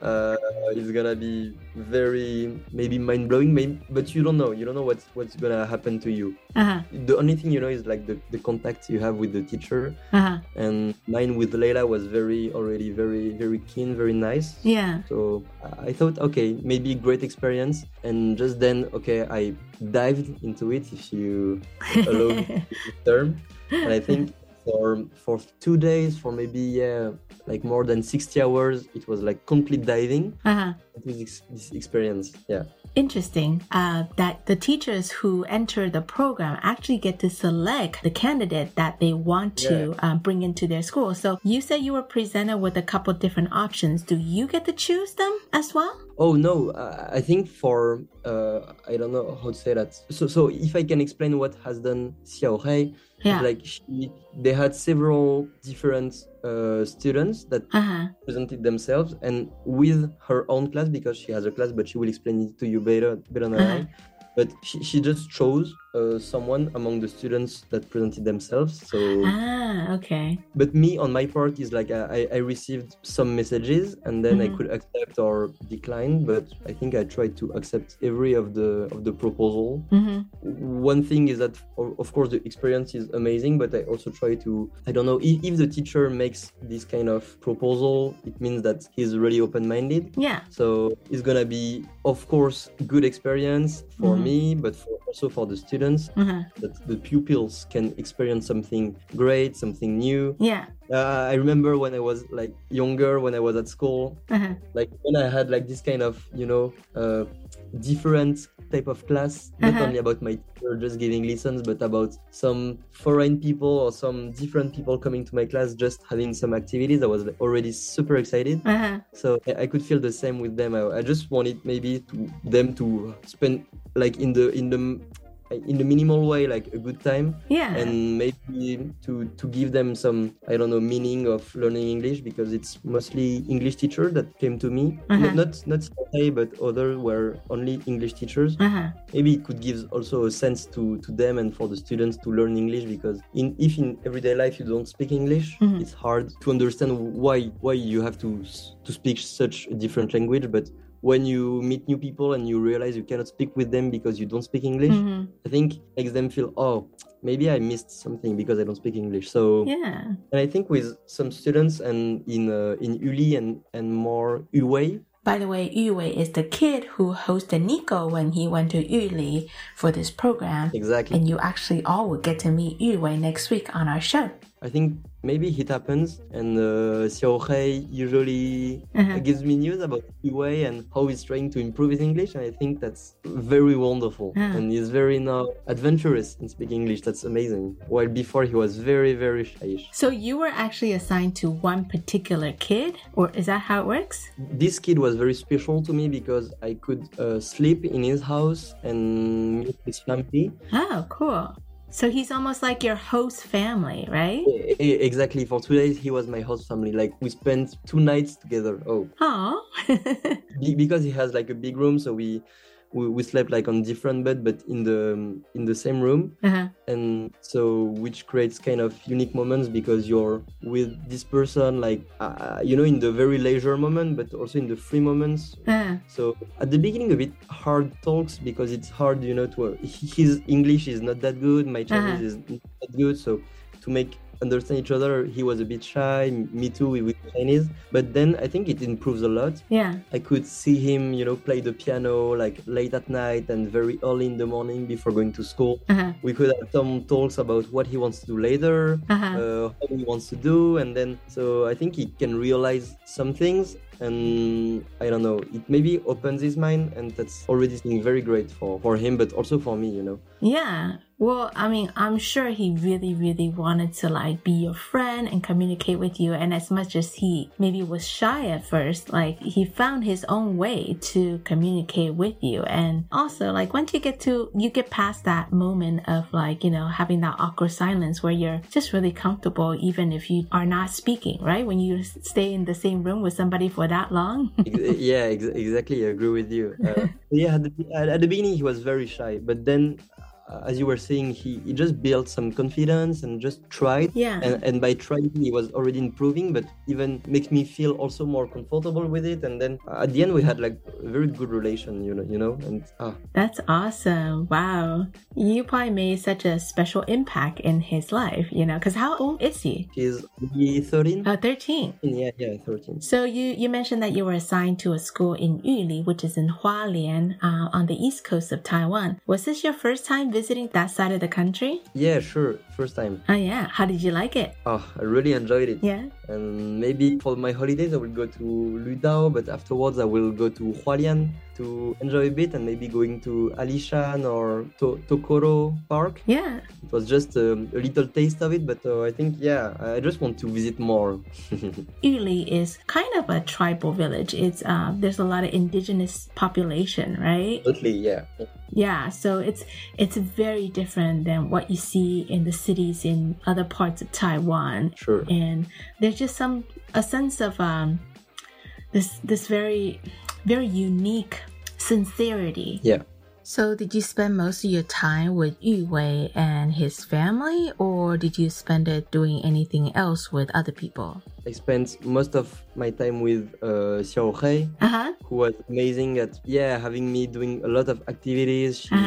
[SPEAKER 11] It's gonna be very maybe mind-blowing, but you don't know what's gonna happen to you. The only thing you know is like the contact you have with the teacher. And mine with Leila was already very, very keen, very nice.
[SPEAKER 2] Yeah.
[SPEAKER 11] So I thought, okay, maybe great experience. And just then, okay, I dived into it, if you allow me the term. And I think for 2 days, for maybe like more than 60 hours, it was like complete diving. It was this experience. Yeah.
[SPEAKER 2] Interesting that the teachers who enter the program actually get to select the candidate that they want to bring into their school. So you said you were presented with a couple different options. Do you get to choose them as well?
[SPEAKER 11] Oh no, I think for I don't know how to say that. So if I can explain what has done Xiao Hei, like they had several different students that presented themselves, and with her own class, because she has a class, but she will explain it to you better than I. But she just chose someone among the students that presented themselves. So
[SPEAKER 2] okay.
[SPEAKER 11] But me, on my part, is like I received some messages, and then I could accept or decline. But I think I tried to accept every of the proposal. One thing is that, of course, the experience is amazing, but I also try to, I don't know, if the teacher makes this kind of proposal, it means that he's really open-minded.
[SPEAKER 2] Yeah.
[SPEAKER 11] So it's gonna be, of course, good experience for me, but also for the students, that the pupils can experience something great, something new.
[SPEAKER 2] Yeah.
[SPEAKER 11] I remember when I was like younger, when I was at school, like when I had like this kind of, different type of class, not only about my teacher just giving lessons, but about some foreign people or some different people coming to my class, just having some activities. I was already super excited. So I could feel the same with them. I just wanted maybe them to spend like in the minimal way, like a good time, and maybe to give them some, I don't know, meaning of learning English, because it's mostly English teachers that came to me, not CA, but other were only English teachers. Maybe it could give also a sense to them and for the students to learn English, because if in everyday life you don't speak English, it's hard to understand why you have to speak such a different language. But when you meet new people and you realize you cannot speak with them because you don't speak English, I think it makes them feel, oh, maybe I missed something because I don't speak English. So and I think with some students and in Uli and more Yuwei.
[SPEAKER 2] By the way, Yuwei is the kid who hosted Nico when he went to Uli for this program.
[SPEAKER 11] Exactly.
[SPEAKER 2] And you actually all will get to meet Yuwei next week on our show.
[SPEAKER 11] I think maybe it happens, and Xiao Hei usually gives me news about Yuwei and how he's trying to improve his English, and I think that's very wonderful. And he's very now adventurous in speaking English. That's amazing. While before he was very, very shy.
[SPEAKER 2] So you were actually assigned to one particular kid, or is that how it works?
[SPEAKER 11] This kid was very special to me because I could sleep in his house and meet his family.
[SPEAKER 2] Oh, cool. So he's almost like your host family, right?
[SPEAKER 11] Exactly. For 2 days, he was my host family. Like, we spent 2 nights together. Oh.
[SPEAKER 2] Aww.
[SPEAKER 11] Because he has like a big room, so we slept like on different bed, but in the same room. And so, which creates kind of unique moments because you're with this person, like, in the very leisure moment, but also in the free moments. So at the beginning, a bit hard talks because it's hard, his English is not that good, my Chinese is not that good. So to make understand each other, he was a bit shy, me too with Chinese, but then I think it improves a lot. I could see him play the piano like late at night and very early in the morning before going to school. We could have some talks about what he wants to do later, how he wants to do, and then so I think he can realize some things, and I don't know, it maybe opens his mind, and that's already something very great for him, but also for me,
[SPEAKER 2] Yeah. Well, I mean, I'm sure he really, really wanted to like be your friend and communicate with you. And as much as he maybe was shy at first, like he found his own way to communicate with you. And also like once you get past that moment of like, you know, having that awkward silence where you're just really comfortable even if you are not speaking, right? When you stay in the same room with somebody for that long.
[SPEAKER 11] Yeah, exactly. I agree with you. Yeah, at the beginning he was very shy, but then as you were saying, he just built some confidence and just tried.
[SPEAKER 2] Yeah.
[SPEAKER 11] And by trying, he was already improving, but even makes me feel also more comfortable with it. And then at the end, we had like a very good relation, you know. And
[SPEAKER 2] That's awesome! Wow, you probably made such a special impact in his life, you know. Because how old is he?
[SPEAKER 11] He's 13.
[SPEAKER 2] 13.
[SPEAKER 11] Yeah, 13.
[SPEAKER 2] So you mentioned that you were assigned to a school in Yuli, which is in Hualien, on the east coast of Taiwan. Was this your first time visiting that side of the country?
[SPEAKER 11] Yeah, sure. First time.
[SPEAKER 2] Oh yeah. How did you like it?
[SPEAKER 11] Oh, I really enjoyed it.
[SPEAKER 2] Yeah.
[SPEAKER 11] And maybe for my holidays I will go to Ludao, but afterwards I will go to Hualien to enjoy a bit and maybe going to Alishan or Tokoro Park.
[SPEAKER 2] Yeah.
[SPEAKER 11] It was just a little taste of it, but I think, yeah, I just want to visit more.
[SPEAKER 2] Yuli is kind of a tribal village. It's there's a lot of indigenous population, right?
[SPEAKER 11] Totally, yeah.
[SPEAKER 2] Yeah, so it's very different than what you see in the cities in other parts of Taiwan.
[SPEAKER 11] Sure.
[SPEAKER 2] And there's just a sense of this very, very unique sincerity.
[SPEAKER 11] Yeah.
[SPEAKER 2] So did you spend most of your time with Yu Wei and his family, or did you spend it doing anything else with other people?
[SPEAKER 11] I spent most of my time with Xiao Hei, who was amazing at having me doing a lot of activities. She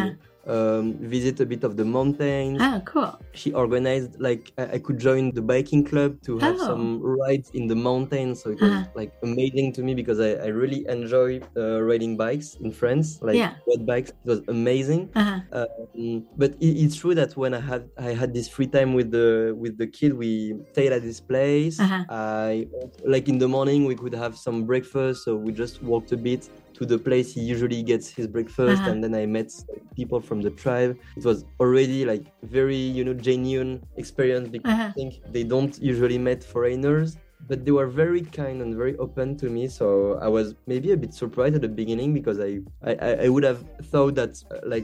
[SPEAKER 11] visit a bit of the mountains.
[SPEAKER 2] Oh, cool.
[SPEAKER 11] She organized like I could join the biking club to have some rides in the mountains. So it was like amazing to me because I really enjoy riding bikes in France, like road bikes. It was amazing. But it's true that when I had this free time with the kid, we stayed at this place. I like in the morning we could have some breakfast, so we just walked a bit to the place he usually gets his breakfast, and then I met people from the tribe. It was already like very, genuine experience because I think they don't usually meet foreigners, but they were very kind and very open to me. So I was maybe a bit surprised at the beginning because I would have thought that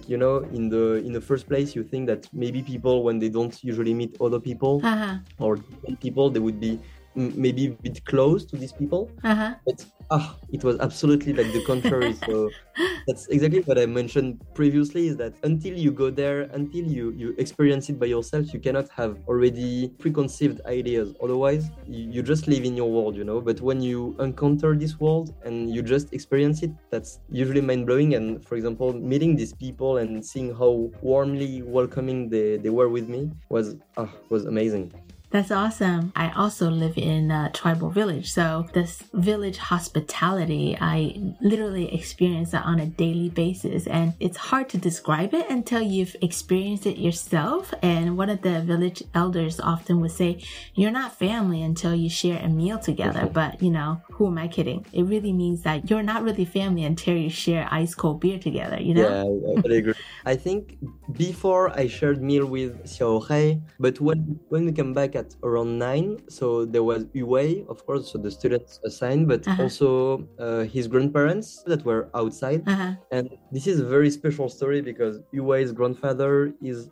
[SPEAKER 11] in the first place you think that maybe people when they don't usually meet other people or different people they would be maybe a bit close to these people, but it was absolutely like the contrary. So that's exactly what I mentioned previously, is that until you go there, until you experience it by yourself, you cannot have already preconceived ideas. Otherwise you just live in your world, but when you encounter this world and you just experience it, that's usually mind-blowing. And for example, meeting these people and seeing how warmly welcoming they were with me was amazing.
[SPEAKER 2] That's awesome. I also live in a tribal village. So this village hospitality, I literally experience that on a daily basis. And it's hard to describe it until you've experienced it yourself. And one of the village elders often would say, you're not family until you share a meal together. But, who am I kidding? It really means that you're not really family until you share ice cold beer together,
[SPEAKER 11] Yeah, I totally agree. I think before I shared meal with Xiao Hei, but when we came back at around 9, so there was Yu Wei, of course, so the students assigned, but also his grandparents that were outside. And this is a very special story because Yu Wei's grandfather is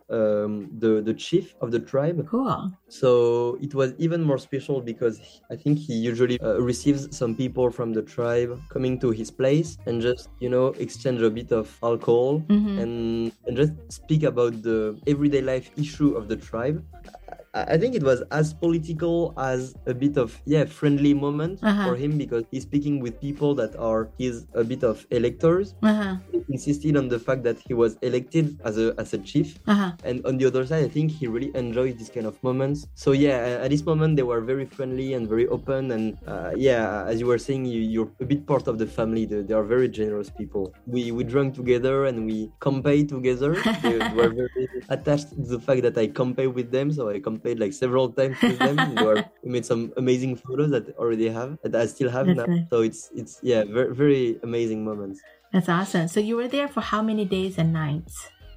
[SPEAKER 11] the chief of the tribe.
[SPEAKER 2] Cool.
[SPEAKER 11] So it was even more special because I think he usually receives some people from the tribe coming to his place and just, exchange a bit of alcohol and just speak about the everyday life issue of the tribe. I think it was as political as a bit of friendly moment for him because he's speaking with people that are a bit of electors. He insisted on the fact that he was elected as a chief, and on the other side, I think he really enjoyed this kind of moments. So at this moment they were very friendly and very open, and as you were saying, you're a bit part of the family. They are very generous people. We drank together and we campaigned together. They were very attached to the fact that I campaigned with them, so I campaigned like several times with them. We made some amazing photos that I still have now.
[SPEAKER 2] Nice.
[SPEAKER 11] So it's very, very amazing moments.
[SPEAKER 2] That's awesome. So you were there for how many days and nights?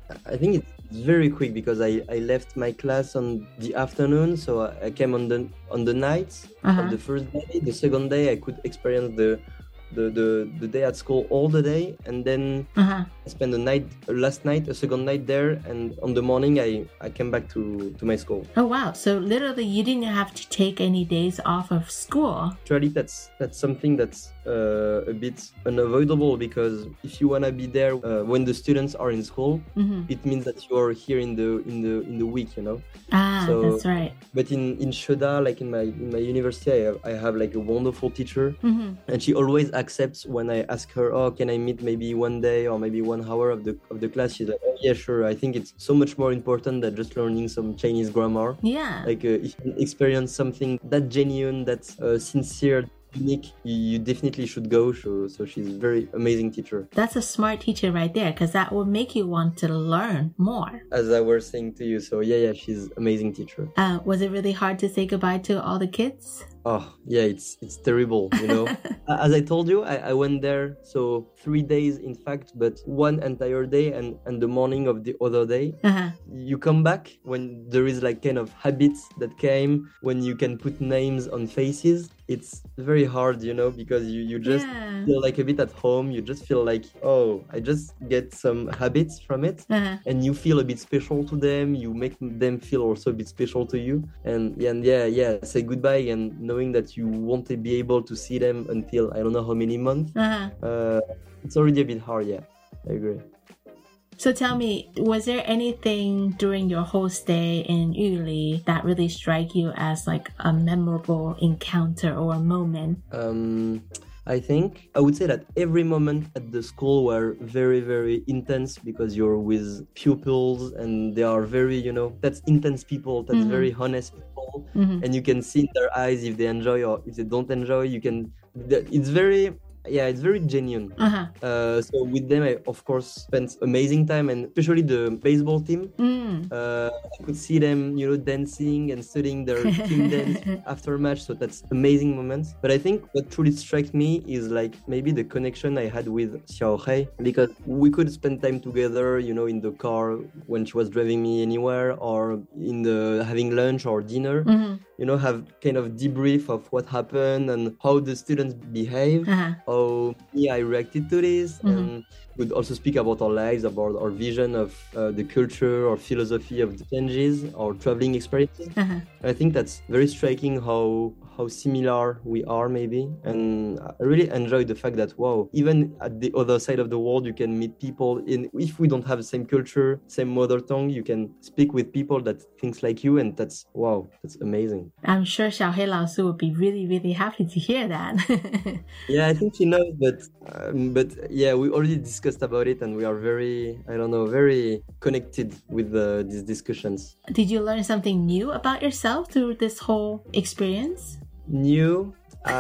[SPEAKER 11] I think it's very quick because I left my class on the afternoon, so I came on the night of the first day. The second day I could experience the day at school all the day, and then I spent a second night there, and on the morning I came back to my school.
[SPEAKER 2] Oh wow, so literally you didn't have to take any days off of school.
[SPEAKER 11] Actually, that's something that's a bit unavoidable, because if you want to be there when the students are in school, it means that you are here in the week, so,
[SPEAKER 2] that's right.
[SPEAKER 11] But in Sheda, like in my university, I have like a wonderful teacher, and she always accepts when I ask her, oh, can I meet maybe one day or maybe 1 hour of the class? She's like, oh yeah, sure. I think it's so much more important than just learning some Chinese grammar.
[SPEAKER 2] Yeah.
[SPEAKER 11] Like if you experience something that genuine, that's sincere, unique, you definitely should go. So she's a very amazing teacher.
[SPEAKER 2] That's a smart teacher right there, because that will make you want to learn more.
[SPEAKER 11] As I was saying to you, so yeah, she's amazing teacher.
[SPEAKER 2] Was it really hard to say goodbye to all the kids?
[SPEAKER 11] Oh yeah, it's terrible, As I told you, I went there, so 3 days in fact, but one entire day and the morning of the other day. You come back when there is like kind of habits that came, when you can put names on faces. It's very hard, because you just feel like a bit at home. You just feel like, oh, I just get some habits from it, and you feel a bit special to them. You make them feel also a bit special to you, and say goodbye, and knowing that you won't be able to see them until I don't know how many months. It's already a bit hard. Yeah, I agree.
[SPEAKER 2] So tell me, was there anything during your whole stay in Yuli that really struck you as like a memorable encounter or a moment?
[SPEAKER 11] I think I would say that every moment at the school were very, very intense, because you're with pupils and they are very, that's intense people, that's very honest people, and you can see in their eyes if they enjoy or if they don't enjoy. It's very genuine. So with them, I of course spent amazing time, and especially the baseball team. I could see them, dancing and studying their team dance after match. So that's amazing moments. But I think what truly struck me is like maybe the connection I had with Xiaohei, because we could spend time together, in the car when she was driving me anywhere, or in the having lunch or dinner. Have kind of debrief of what happened and how the students behave, how I reacted to this, and would also speak about our lives, about our vision of the culture or philosophy of the changes, or traveling experiences. I think that's very striking how similar we are maybe, and I really enjoyed the fact that even at the other side of the world you can meet people if we don't have the same culture, same mother tongue, you can speak with people that thinks like you, and that's amazing.
[SPEAKER 2] I'm sure Xiaohei Laosu would be really, really happy to hear that.
[SPEAKER 11] Yeah, I think she knows, but yeah, we already discussed about it, and we are very connected with these discussions.
[SPEAKER 2] Did you learn something new about yourself through this whole experience?
[SPEAKER 11] New?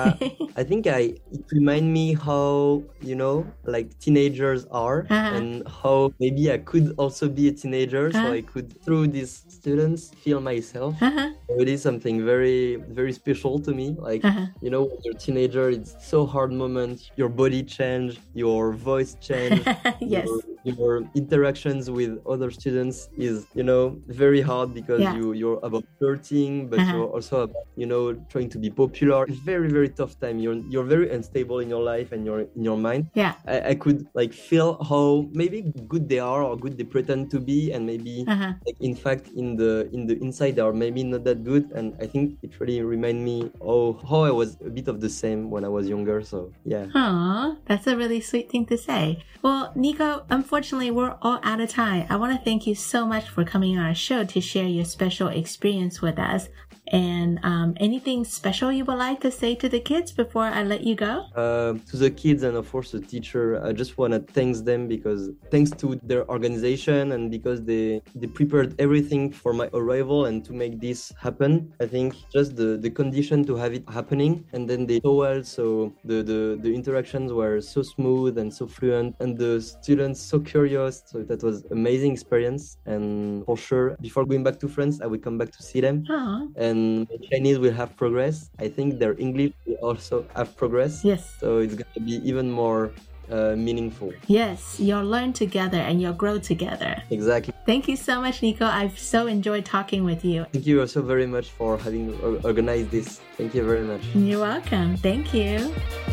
[SPEAKER 11] I think it reminded me how, like teenagers are, and how maybe I could also be a teenager, so I could, through these students, feel myself. It is something very, very special to me. Like, when you're a teenager, it's so hard moment. Your body change, your voice change.
[SPEAKER 2] Yes.
[SPEAKER 11] Your interactions with other students is, very hard, because you're about flirting, but you're also about, trying to be popular. It's very, very tough time. You're very unstable in your life and in your mind.
[SPEAKER 2] Yeah.
[SPEAKER 11] I could like feel how maybe good they are or good they pretend to be, and maybe like in fact in the inside they are maybe not that good. And I think it really reminded me how I was a bit of the same when I was younger. So yeah.
[SPEAKER 2] Aw, that's a really sweet thing to say. Well, Nico, unfortunately we're all out of time. I want to thank you so much for coming on our show to share your special experience with us. And anything special you would like to say to the kids before I let you go?
[SPEAKER 11] To the kids and of course the teacher, I just want to thank them, because thanks to their organization and because they prepared everything for my arrival and to make this happen. I think just the condition to have it happening, and then they so well, so the interactions were so smooth and so fluent, and the students so curious. So that was amazing experience, and for sure before going back to France I will come back to see them. And Chinese will have progress. I think their English will also have progress.
[SPEAKER 2] Yes.
[SPEAKER 11] So it's going to be even more meaningful.
[SPEAKER 2] Yes, you'll learn together and you'll grow together.
[SPEAKER 11] Exactly.
[SPEAKER 2] Thank you so much, Nico. I've so enjoyed talking with you.
[SPEAKER 11] Thank you also very much for having organized this. Thank you very much.
[SPEAKER 2] You're welcome. Thank you.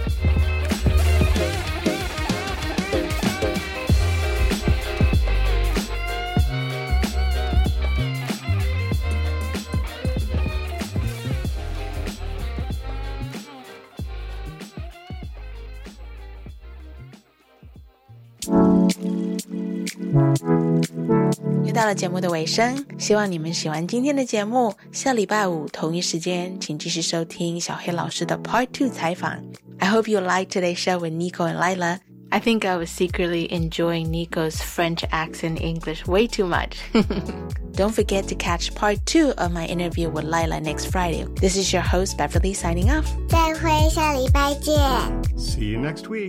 [SPEAKER 2] 又到了节目的尾声，希望你们喜欢今天的节目。下礼拜五同一时间，请继续收听小黑老师的 Part 2 采访。I hope you liked today's show with Nico and Lila. I think I was secretly enjoying Nico's French accent English way too much. Don't forget to catch Part 2 of my interview with Lila next Friday. This is your host, Beverly, signing off.
[SPEAKER 12] 再会，下礼拜见。
[SPEAKER 1] See you next week.